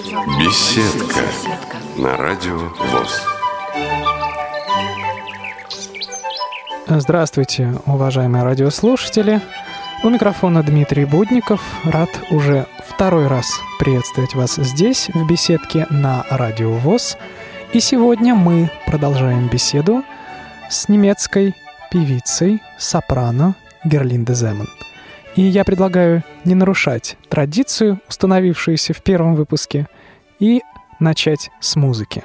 Беседка на радио ВОС. Здравствуйте, уважаемые радиослушатели. У микрофона Дмитрий Будников. Рад уже второй раз приветствовать вас здесь, в беседке на радио ВОС. И сегодня мы продолжаем беседу с немецкой певицей сопрано Герлинде Земан. И я предлагаю не нарушать традицию, установившуюся в первом выпуске, и начать с музыки.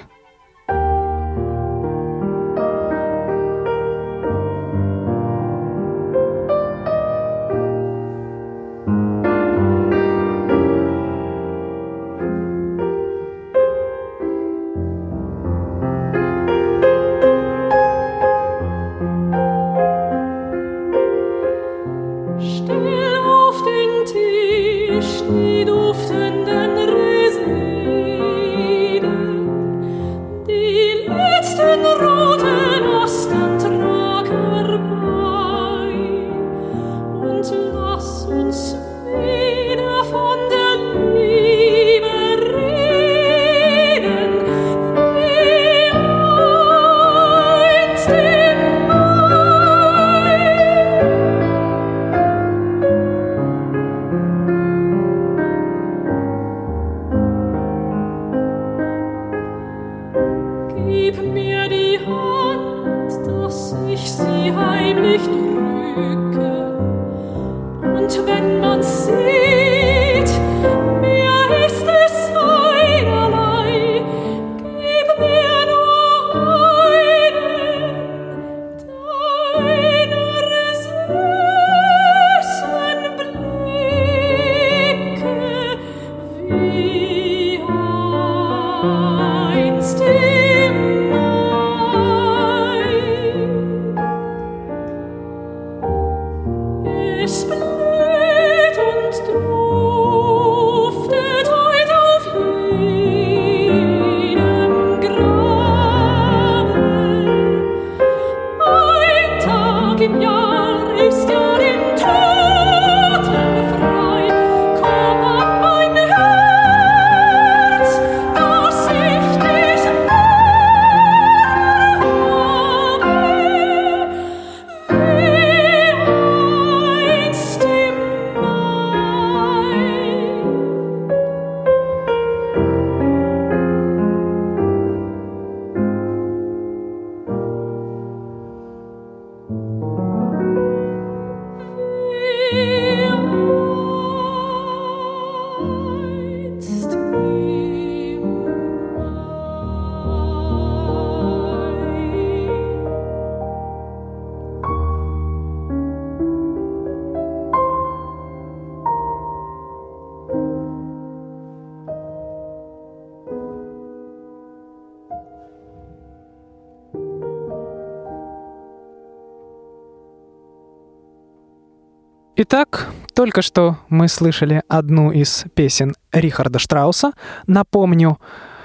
Итак, только что мы слышали одну из песен Рихарда Штрауса. Напомню,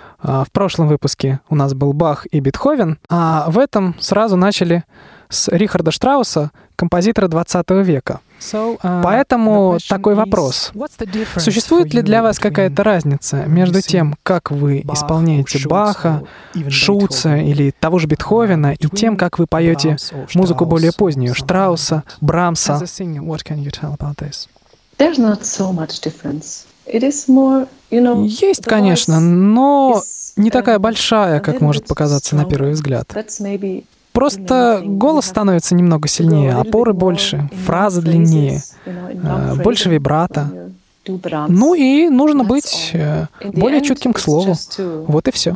в прошлом выпуске у нас был Бах и Бетховен, а в этом сразу начали с Рихарда Штрауса, композитора 20 века. Поэтому такой вопрос. Существует ли для вас какая-то разница между тем, как вы исполняете Баха, Шуца или того же Бетховена, и тем, как вы поете музыку более позднюю, Штрауса, Брамса? Есть, конечно, но не такая большая, как может показаться на первый взгляд. Просто голос становится немного сильнее, опоры больше, фраза длиннее, больше вибрато. Ну и нужно быть более чутким к слову. Вот и все.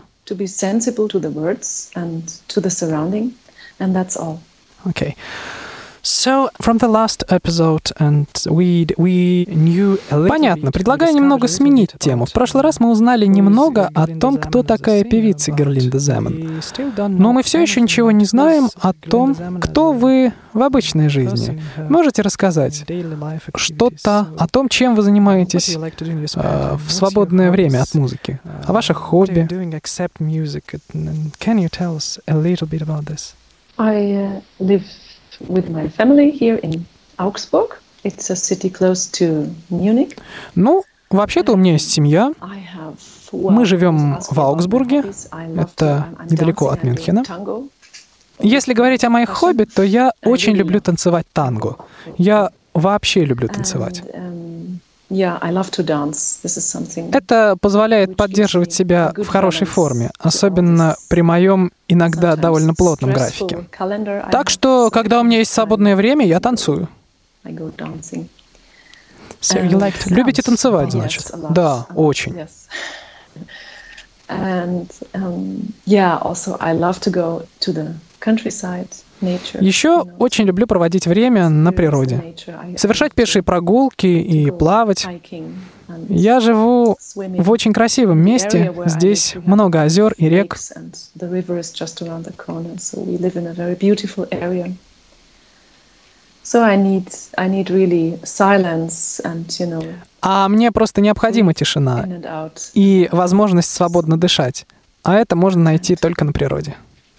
Окей. So, from the last episode, and we knew a little. Понятно. Предлагаю немного сменить тему. В прошлый раз мы узнали немного о том, кто такая певица Герлинде Земан. Но мы все еще ничего не знаем о том, кто вы в обычной жизни. Можете рассказать что-то о том, чем вы занимаетесь в свободное время от музыки, о ваших хобби? Can you tell us a little bit about this? I live with my family here in Augsburg. It's a city close to Munich. Ну, Вообще-то у меня есть семья. Мы живем в Аугсбурге. Это недалеко от Мюнхена. Если говорить о моих хобби, то я очень люблю танцевать танго. Я вообще люблю танцевать. Это позволяет поддерживать себя в хорошей форме, особенно при моем иногда довольно плотном графике. Так что, когда у меня есть свободное время, я танцую. Любите танцевать, значит? Да, очень. Еще очень люблю проводить время на природе, совершать пешие прогулки и плавать. Я живу в очень красивом месте, здесь много озер и рек. А мне просто необходима тишина и возможность свободно дышать. А это можно найти только на природе.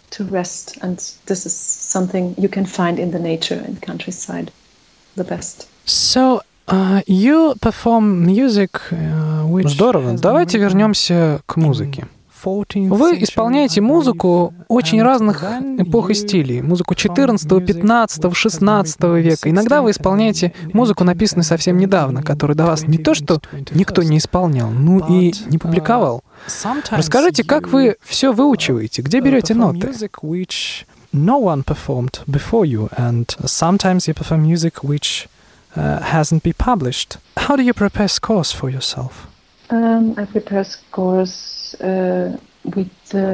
So, you perform music, which Здорово. Давайте вернемся к музыке. Вы исполняете музыку очень разных эпох и стилей. Музыку 14, 15, 16 века. Иногда вы исполняете музыку, написанную совсем недавно, которую до вас не то что никто не исполнял, ну и не публиковал. Расскажите, как вы все выучиваете? Где берете ноты? No one performed before you, and sometimes you perform music which hasn't been published. How do you prepare scores for yourself? I prepare scores with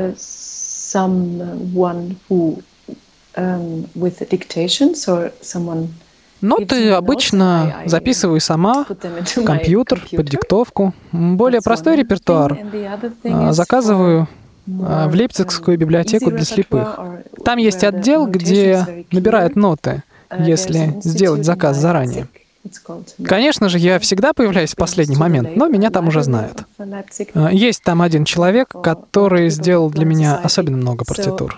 someone who with dictations or someone. Ноты обычно записываю сама в компьютер, под диктовку. Более простой репертуар заказываю в Лейпцигскую библиотеку для слепых. Там есть отдел, где набирают ноты, если сделать заказ заранее. Конечно же, я всегда появляюсь в последний момент, но меня там уже знают. Есть там один человек, который сделал для меня особенно много партитур.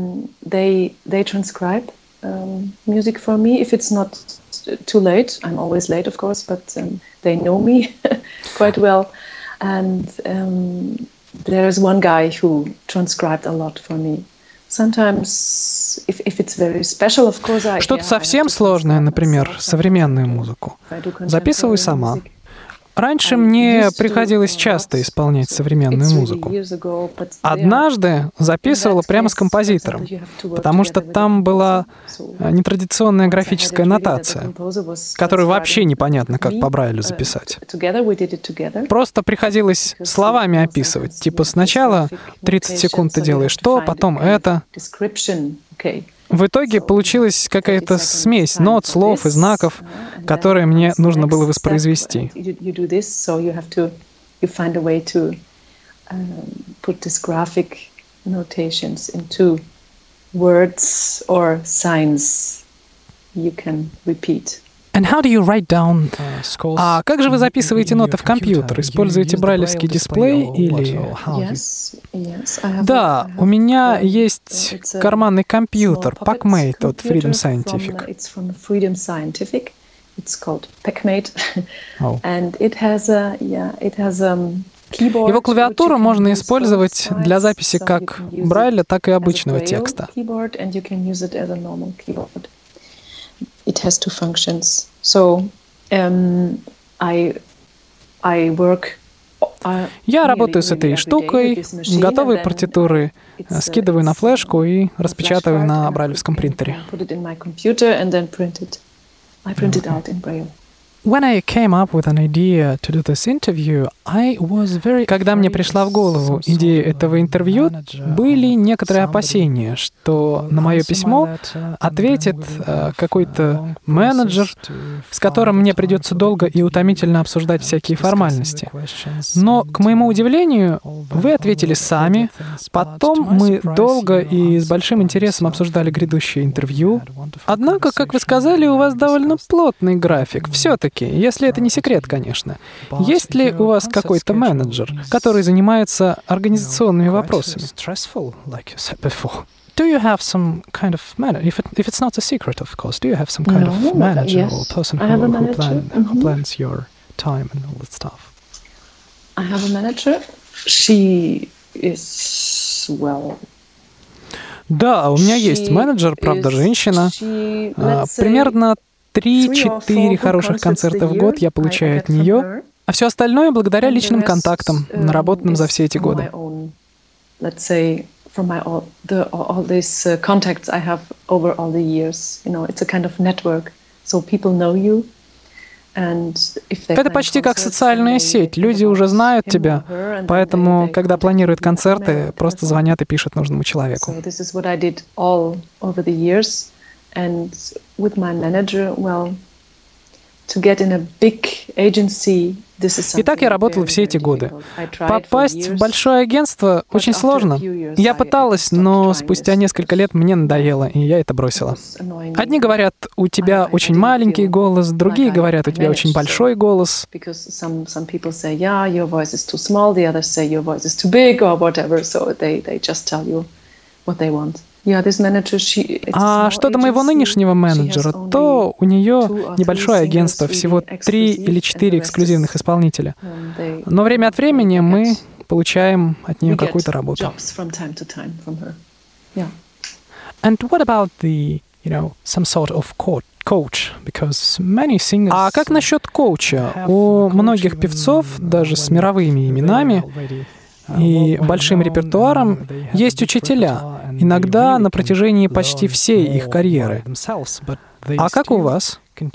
Music for me, if it's not too late. I'm always late, of course, but they know me quite well. And there's one guy who transcribed a lot for me. Sometimes, if it's very special, of course, Что-то совсем сложное, например, современную музыку, записываю сама. Раньше мне приходилось часто исполнять современную музыку. Однажды записывала прямо с композитором, потому что там была нетрадиционная графическая нотация, которую вообще непонятно, как по Брайлю записать. Просто приходилось словами описывать. Типа сначала 30 секунд ты делаешь то, потом это. В итоге получилась какая-то смесь нот, слов и знаков, которые мне нужно было воспроизвести. And how do you write down scores? А как же вы записываете ноты в компьютер? Используете брайлевский дисплей или... Да, у меня есть карманный компьютер PackMate от Freedom Scientific. Его клавиатуру можно использовать для записи как Брайля, так и обычного текста. It has two functions. So, I work. Я работаю с этой штукой, готовые партитуры скидываю на флешку и распечатываю на брайлевском принтере. Когда мне пришла в голову идея этого интервью, были некоторые опасения, что на мое письмо ответит какой-то менеджер, с которым мне придется долго и утомительно обсуждать всякие формальности. Но, к моему удивлению, вы ответили сами, потом мы долго и с большим интересом обсуждали грядущее интервью. Однако, как вы сказали, у вас довольно плотный график. Все-таки, если это не секрет, конечно. Есть ли у вас какой-то менеджер, который занимается организационными вопросами? Do you have some kind of manager? If it's not a secret, of course, do you have some kind of manager or person who plans your time and all that stuff? I have a manager. She is, well... Да, у меня есть менеджер, правда, женщина. Примерно 3-4 хороших концерта в год я получаю от нее, а все остальное благодаря личным контактам, наработанным за все эти годы. From all these contacts I have over all the years, it's a kind of network, so people know you. Это почти как социальная сеть. Люди уже знают тебя, поэтому, когда планируют концерты, просто звонят и пишут нужному человеку. И так я работал все эти годы. Попасть в большое агентство очень сложно. Я пыталась, но спустя несколько лет мне надоело, и я это бросила. Одни говорят, у тебя очень маленький голос, другие говорят, у тебя очень большой голос. А что до моего нынешнего менеджера, то у нее небольшое агентство, всего 3 или 4 эксклюзивных исполнителя. Но время от времени мы получаем от нее какую-то работу. And what about the, some sort of coach? Because many singers. А как насчет коуча? У многих певцов, даже с мировыми именами и большим репертуаром, есть учителя, иногда на протяжении почти всей их карьеры. А как у вас?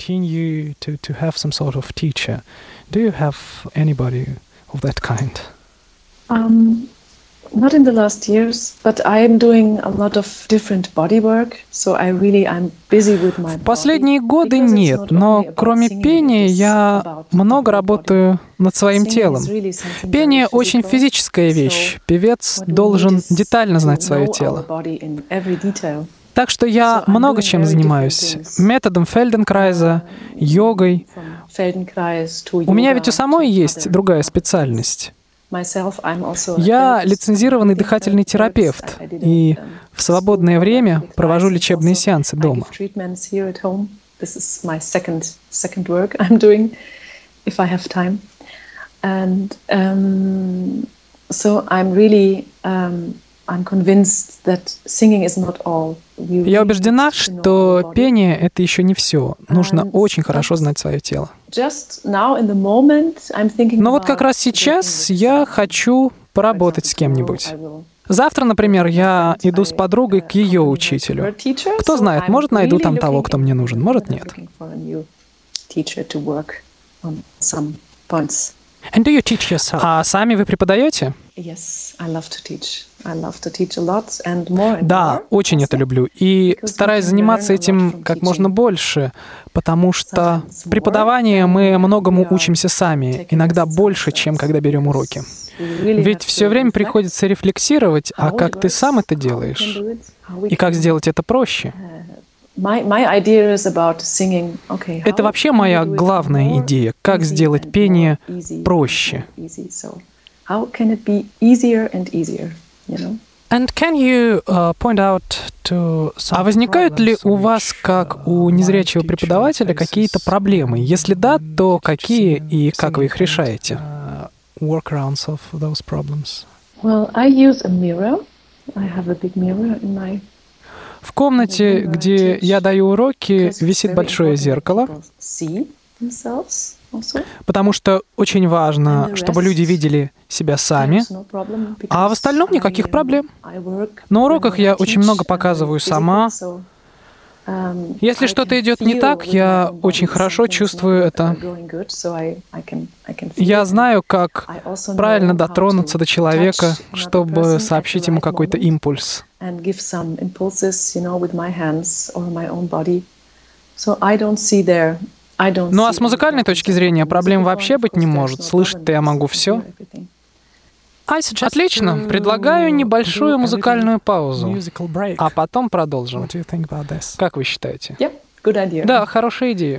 Not in the last years, but I am doing a lot of different body work, so I'm busy with my body. В последние годы нет, но кроме пения я много работаю над своим телом. Пение очень физическая вещь. Певец должен детально знать свое тело. Так что я много чем занимаюсь. Методом Фельденкрайза, йогой. У меня ведь у самой есть другая специальность. Я лицензированный дыхательный терапевт и в свободное время провожу лечебные сеансы дома. Я убеждена, что пение — это еще не все. Нужно очень хорошо знать свое тело. Но вот как раз сейчас я хочу поработать с кем-нибудь. Завтра, например, я иду с подругой к ее учителю. Кто знает, может, найду там того, кто мне нужен, может, нет. And do you teach yourself? А сами вы преподаете? Да, очень это люблю. И стараюсь заниматься этим как можно больше, потому что в преподавании мы многому учимся сами, иногда больше, чем когда берем уроки. Ведь все время приходится рефлексировать, а как ты сам это делаешь? И как сделать это проще? Это вообще моя главная идея, как сделать пение проще. А возникают ли у вас, как у незрячего преподавателя, какие-то проблемы? Если да, то какие и как вы их решаете? В комнате, где я даю уроки, висит большое зеркало, потому что очень важно, чтобы люди видели себя сами, а в остальном никаких проблем. На уроках я очень много показываю сама. Если что-то идет не так, я очень хорошо чувствую это. Я знаю, как правильно дотронуться до человека, чтобы сообщить ему какой-то импульс. Ну а с музыкальной точки зрения проблем вообще быть не может. Слышать-то я могу все. Отлично. Предлагаю небольшую музыкальную паузу, а потом продолжим. Как вы считаете? Да, хорошая идея.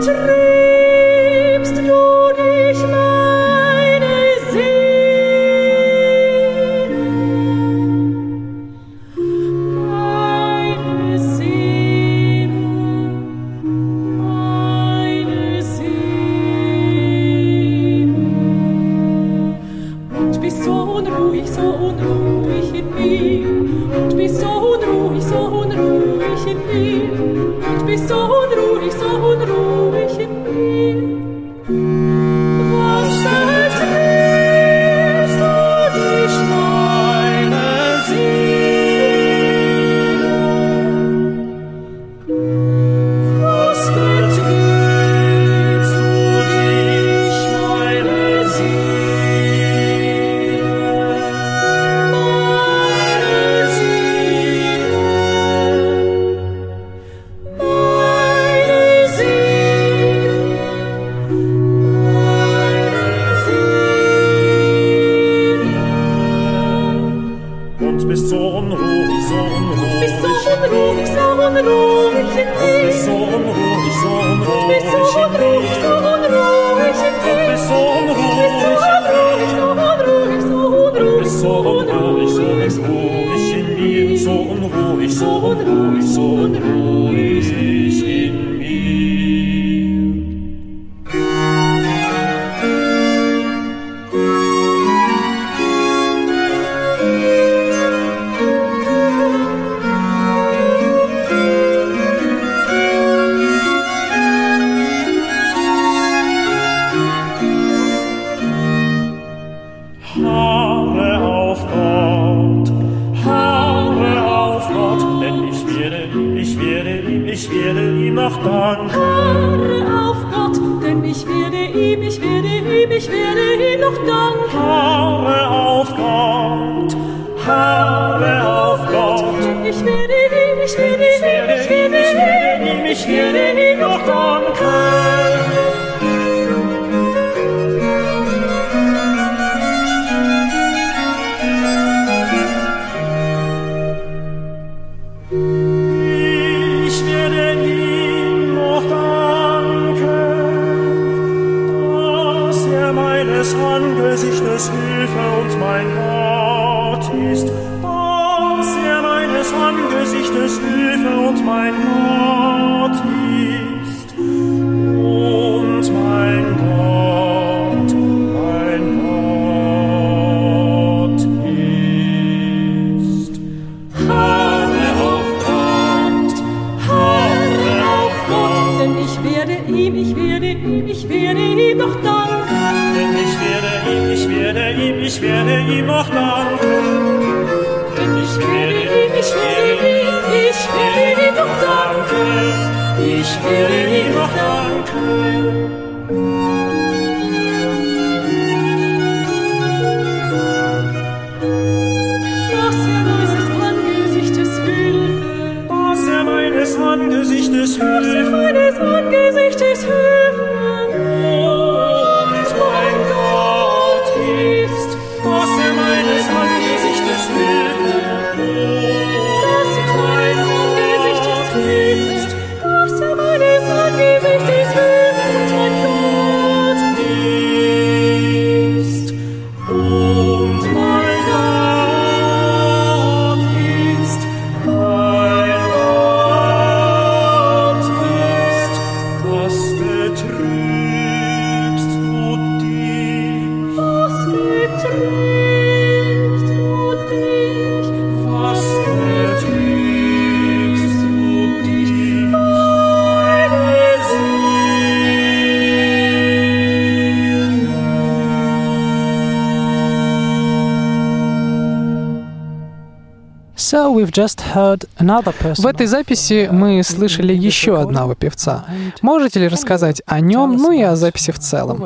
В этой записи мы слышали еще одного певца. Можете ли рассказать о нем, ну и о записи в целом?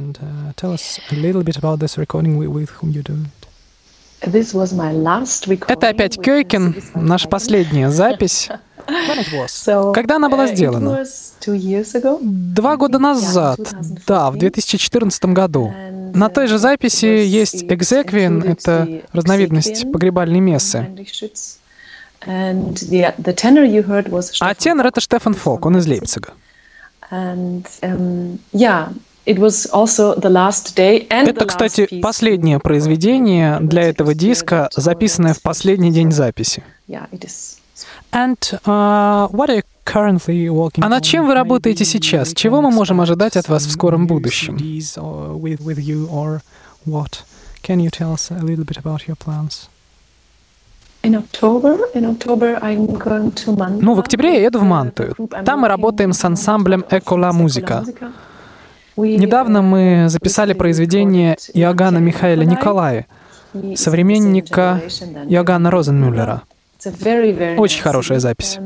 Это опять Кёйкин, наша последняя запись. Когда она была сделана? 2 года назад, да, в 2014 году. На той же записи есть экзеквиен, это разновидность погребальной мессы. А тенор — это Штефан Фок, он из Лейпцига. And it was also the last day and Это, кстати, последнее произведение для этого диска, записанное в последний день записи. Yeah, it is. And what are you currently working on? А над чем вы работаете сейчас? Чего мы можем ожидать от вас в скором будущем? With you or what? Can you tell us a little bit about your plans? In October I'm going to Manta. Ну, в октябре я еду в Манту. Там мы работаем с ансамблем «Экола Музика». Недавно мы записали произведение Иоганна Михаэля Николая, современника Иоганна Розенмюллера. Очень хорошая запись.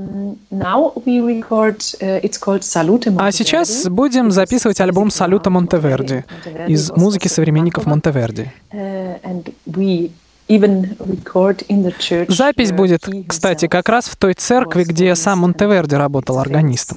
А сейчас будем записывать альбом «Салюта Монтеверди» из музыки современников Монтеверди. Запись будет, кстати, как раз в той церкви, где сам Монтеверди работал органистом.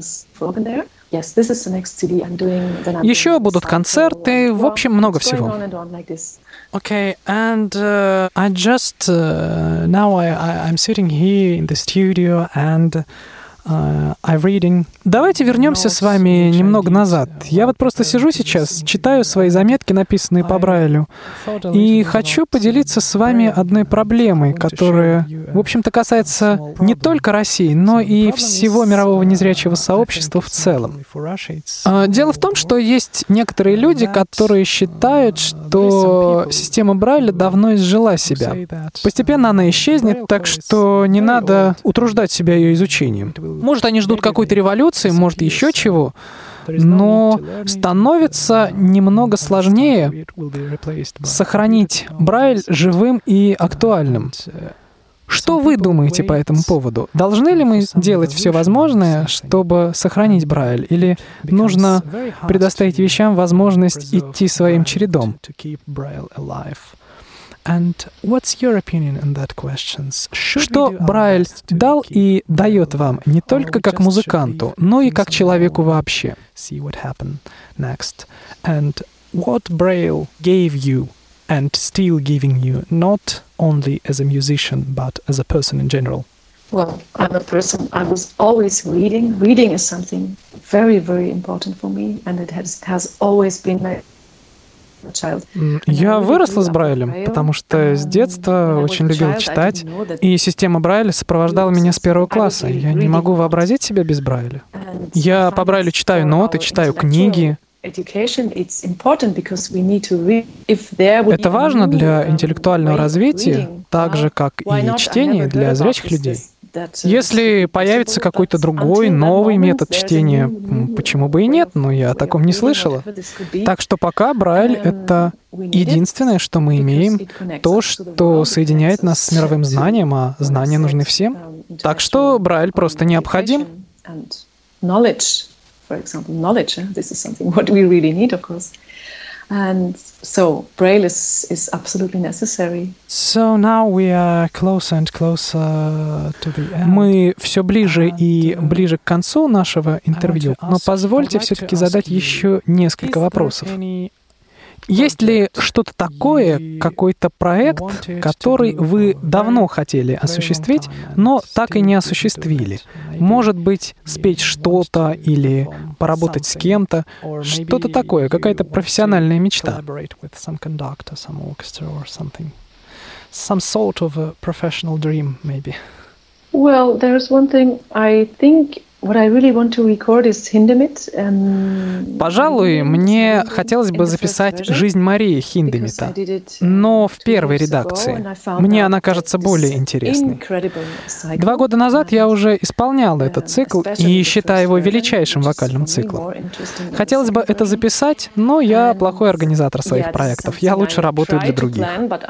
Еще будут концерты, в общем, много всего. Okay, and I just now I'm sitting here in the studio and I'm reading. Давайте вернемся с вами немного назад. Я вот просто сижу сейчас, читаю свои заметки, написанные по Брайлю, и хочу поделиться с вами одной проблемой, которая, в общем-то, касается не только России, но и всего мирового незрячего сообщества в целом. Дело в том, что есть некоторые люди, которые считают, что система Брайля давно изжила себя. Постепенно она исчезнет, так что не надо утруждать себя ее изучением. Может, они ждут какой-то революции, может, еще чего, но становится немного сложнее сохранить Брайль живым и актуальным. Что вы думаете по этому поводу? Должны ли мы делать все возможное, чтобы сохранить Брайль, или нужно предоставить вещам возможность идти своим чередом? And what's your opinion on that question? Что Брайль дал и дает вам не только как музыканту, но и как человеку вообще? See what happened next. And what Braille gave you and still giving you, not only as a musician, but as a person in general? Well, I'm a person, I was always reading. Reading is something very, very important for me, and it has always been my... Я выросла с Брайлем, потому что с детства очень любила читать, и система Брайля сопровождала меня с первого класса. Я не могу вообразить себя без Брайля. Я по Брайлю читаю ноты, читаю книги. Это важно для интеллектуального развития, так же, как и чтение для зрячих людей. Если появится какой-то другой, новый метод чтения, почему бы и нет, но я о таком не слышала. Так что пока Брайль — это единственное, что мы имеем, то, что соединяет нас с мировым знанием, а знания нужны всем. Так что Брайль просто необходим. And so Braille is absolutely necessary. So now we are closer and closer to the end. Мы все ближе и ближе к концу нашего интервью, но позвольте все-таки задать еще несколько вопросов. Есть ли что-то такое, какой-то проект, который вы давно хотели осуществить, но так и не осуществили? Может быть, спеть что-то или поработать с кем-то? Что-то такое, какая-то профессиональная мечта? Some sort of a professional dream, maybe. Well, there's one thing I think. Пожалуй, мне хотелось бы записать «Жизнь Марии» Хиндемита, но в первой редакции. Мне она кажется более интересной. 2 года назад я уже исполняла этот цикл и считаю его величайшим вокальным циклом. Хотелось бы это записать, но я плохой организатор своих проектов. Я лучше работаю для других.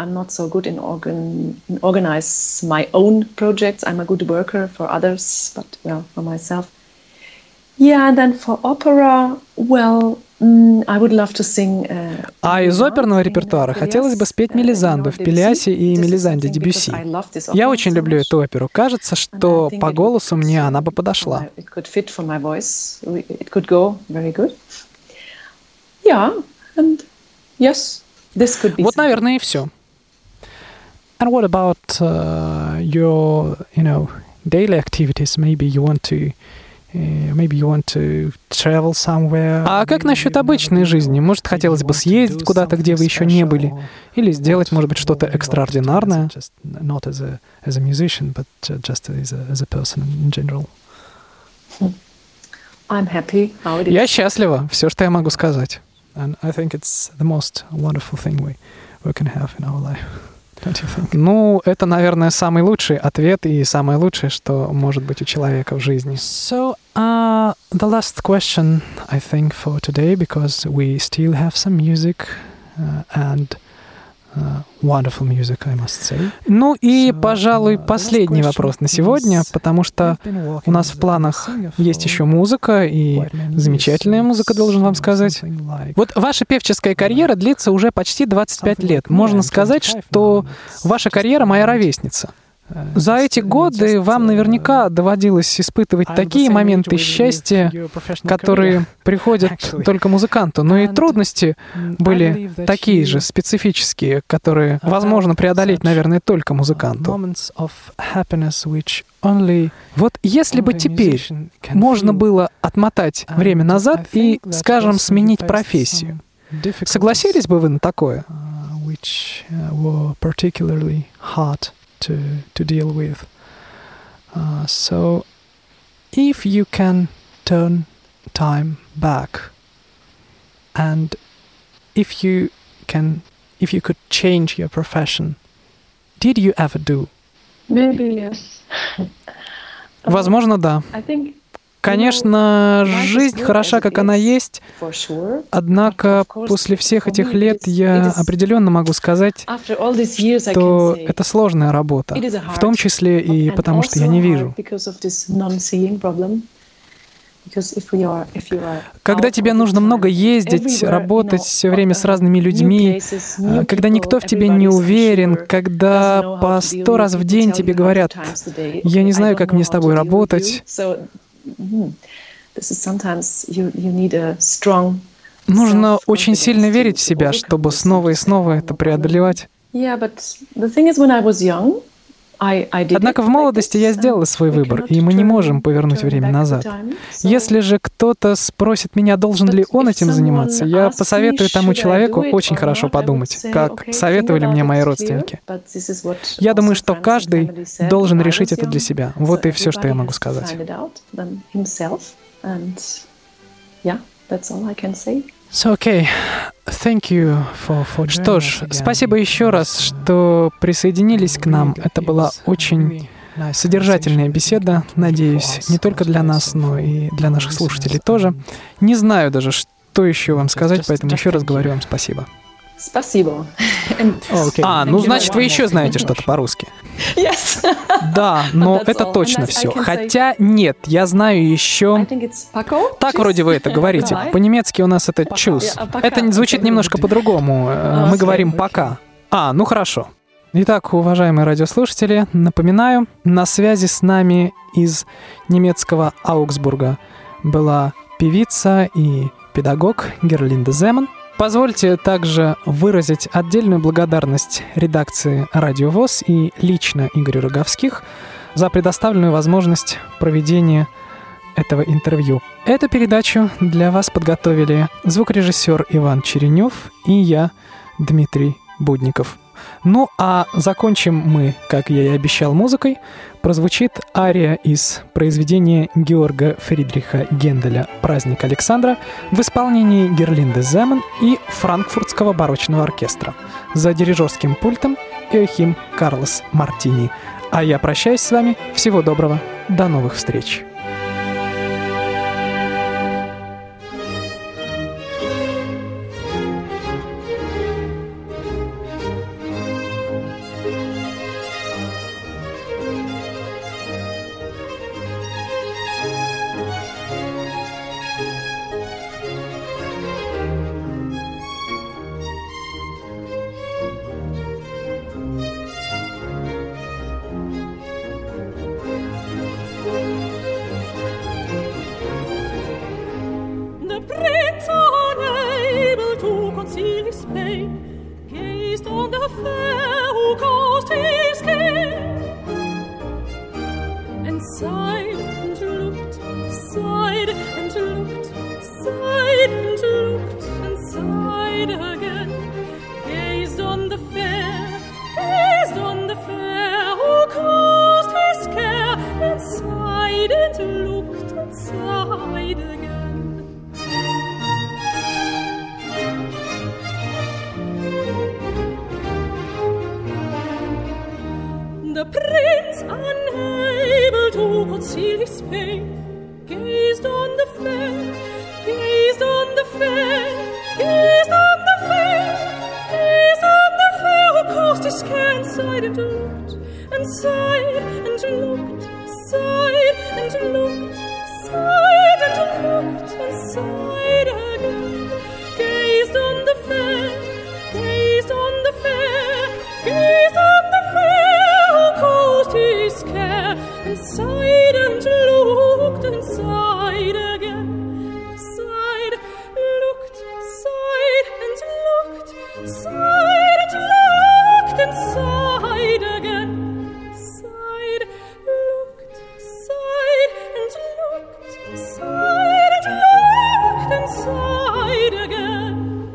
Yeah, then for opera, well, I would love to sing. А из оперного репертуара хотелось бы спеть Мелизанду в Пелиасе и Мелизанде Дебюсси. Я очень люблю эту оперу. Кажется, что по голосу мне она бы подошла. Вот, наверное, и все. And what about your, daily activities? Maybe you want to Maybe you want to travel somewhere. А как насчет обычной жизни? Может, хотелось бы съездить куда-то, где вы еще не были? Или сделать, может быть, что-то экстраординарное? Not as a musician, but just as a person in general. I'm happy how it is. Я счастлива. Все, что я могу сказать. And I think it's the most wonderful thing we can have in our life. Don't you think? Ну, это, наверное, самый лучший ответ и самое лучшее, что может быть у человека в жизни. So, the last question, I think, for today, because we still have some music and wonderful music, I must say. Ну и, пожалуй, последний вопрос на сегодня, потому что у нас в планах есть еще музыка, и замечательная музыка, должен вам сказать. Вот ваша певческая карьера длится уже почти 25 лет. Можно сказать, что ваша карьера моя ровесница. За эти годы вам наверняка доводилось испытывать такие моменты счастья, которые приходят только музыканту, но и трудности были такие же, специфические, которые возможно преодолеть, наверное, только музыканту. Вот если бы теперь можно было отмотать время назад и, скажем, сменить профессию, согласились бы вы на такое? To deal with. So, if you can turn time back, and if you could change your profession, did you ever do? Maybe yes. Возможно, да. I think. Конечно, жизнь хороша, как она есть, однако после всех этих лет я определенно могу сказать, что это сложная работа, в том числе и потому, что я не вижу. Когда тебе нужно много ездить, работать все время с разными людьми, когда никто в тебе не уверен, когда по 100 раз в день тебе говорят: «Я не знаю, как мне с тобой работать», нужно очень сильно верить в себя, чтобы снова и снова это преодолевать. Однако в молодости я сделала свой выбор, и мы не можем повернуть время назад. Если же кто-то спросит меня, должен ли он этим заниматься, я посоветую тому человеку очень хорошо подумать, как советовали мне мои родственники. Я думаю, что каждый должен решить это для себя. Вот и все, что я могу сказать. So, okay. Thank you for Что ж, спасибо еще раз, что присоединились к нам. Это была очень содержательная беседа, надеюсь, не только для нас, но и для наших слушателей тоже. Не знаю даже, что еще вам сказать, поэтому еще раз говорю вам спасибо. Спасибо. Ну, значит, вы еще знаете что-то по-русски. Yes. Да, но это точно все. Хотя нет, я знаю еще... Так вроде вы это говорите. По-немецки у нас это «чус». Это звучит немножко по-другому. Мы говорим «пока». Ну хорошо. Итак, уважаемые радиослушатели, напоминаю, на связи с нами из немецкого Аугсбурга была певица и педагог Герлинда Земан. Позвольте также выразить отдельную благодарность редакции «Радио ВОС» и лично Игорю Роговских за предоставленную возможность проведения этого интервью. Эту передачу для вас подготовили звукорежиссер Иван Черенев и я, Дмитрий Будников. Ну а закончим мы, как я и обещал, музыкой. Прозвучит ария из произведения Георга Фридриха Генделя «Праздник Александра» в исполнении Герлинды Земан и Франкфуртского барочного оркестра. За дирижерским пультом Иохим Карлос Мартини. А я прощаюсь с вами. Всего доброго. До новых встреч. sighed and looked, sighed and looked, sighed and looked, and sighed again. Gazed on the fair, who caused his care, and sighed and looked and sighed again. The prince, unable to conceal his pain, gazed on the fair, gazed on the fair, gazed on the fair, gazed on the fair, who caused his care, and sighed and looked, and sighed and looked, sighed and looked, sighed and looked, and sighed again. Gazed on the fair, gazed on the fair, gazed on the fair, who caused his care, and sighed and looked, and sighed again. Sighed, looked, sighed and looked, sighed and looked, and sighed again. Sighed, looked, sighed and looked, sighed and looked, and sighed again.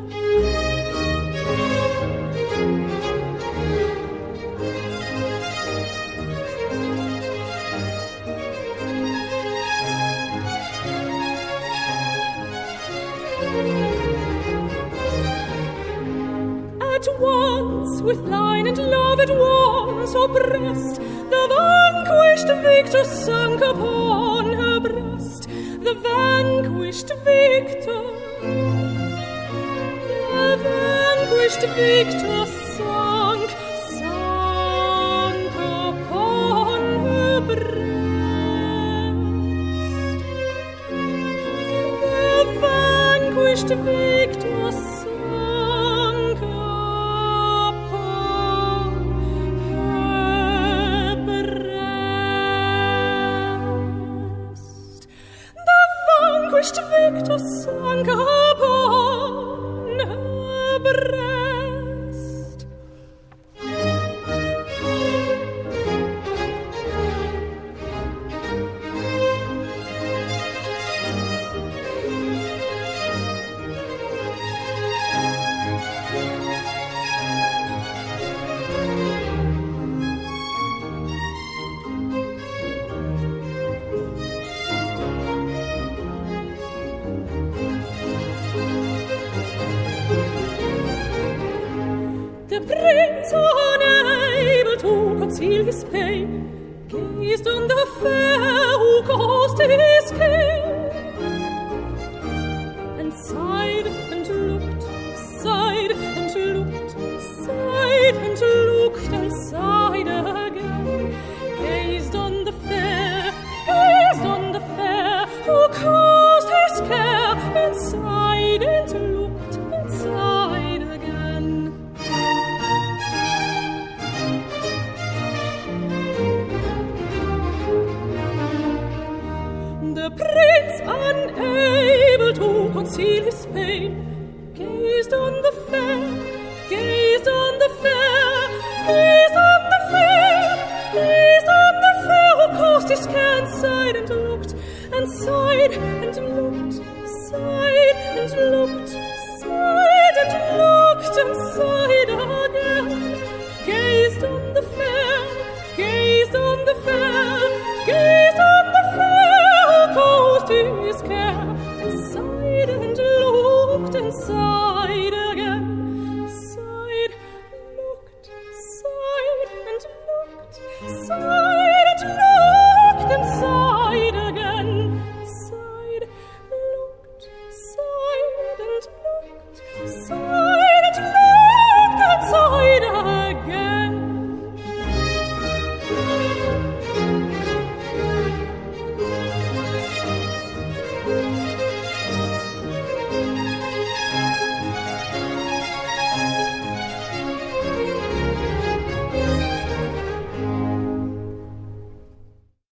At once, with line and love at once oppressed, the vanquished victor sunk upon her breast. The vanquished victor, the vanquished victor sunk upon her breast. The vanquished victor sunk upon her breast. The vanquished victor sunk upon her breast. The prince, unable to conceal his pain, gazed on the fair who caused his care, and sighed and looked, sighed and looked, sighed and looked, and sighed again. Gazed on the fair, gazed on the fair, who caused his care, and sighed and looked, and sighed again. The prince, unable to conceal his pain, gazed on the fair, gazed on the fair, gazed on the fair, gazed on the fair, who caused his care, and sighed and looked, and sighed and looked, sighed and looked,